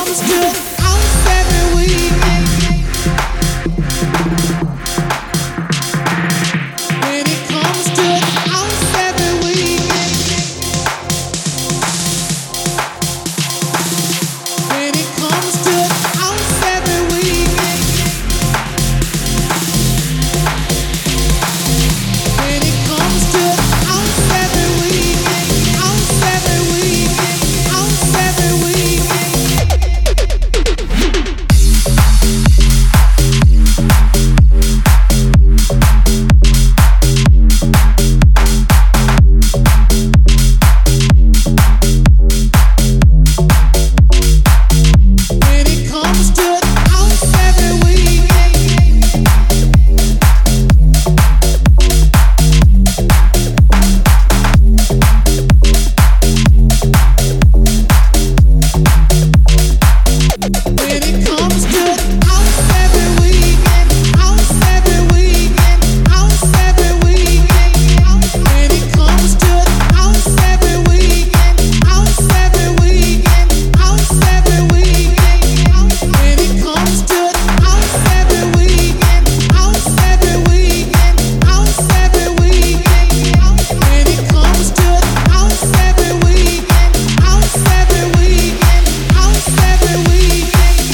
comes to house every weekend, when it comes to house every weekend, when it comes to house every weekend, when it comes to house every weekend, house every weekend, house every weekend. When it comes to house every weekend, when it comes to house every weekend, house every weekend, house every weekend, when it comes to house every weekend, house every weekend, house every weekend, when it comes to house every weekend, house every weekend, house every weekend, when it comes to house every weekend, house every weekend, house every weekend.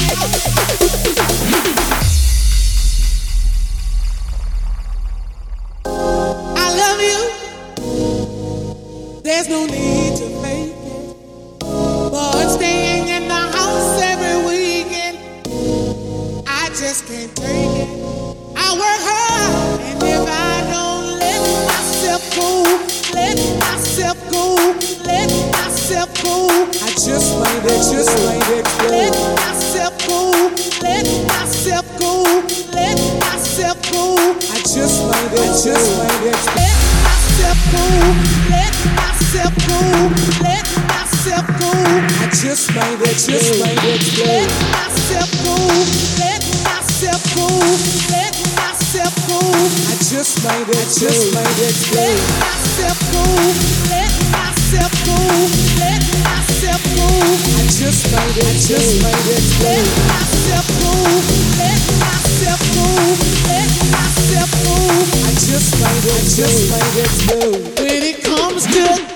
I love you. There's no need to fake it. But staying in the house every weekend, I just can't take it. I work hard, and if I don't let myself go, let myself go, let myself go, I just might explode. Let myself go, let myself go, let myself go, I just might explode. Let myself go, let myself go, let myself go, I just might explode. Let myself go, let myself go, let myself go, I just might explode. Let myself go, let myself go, let myself go, I just might explode. Let myself go, let myself go, let myself go, I just might explode. When it comes to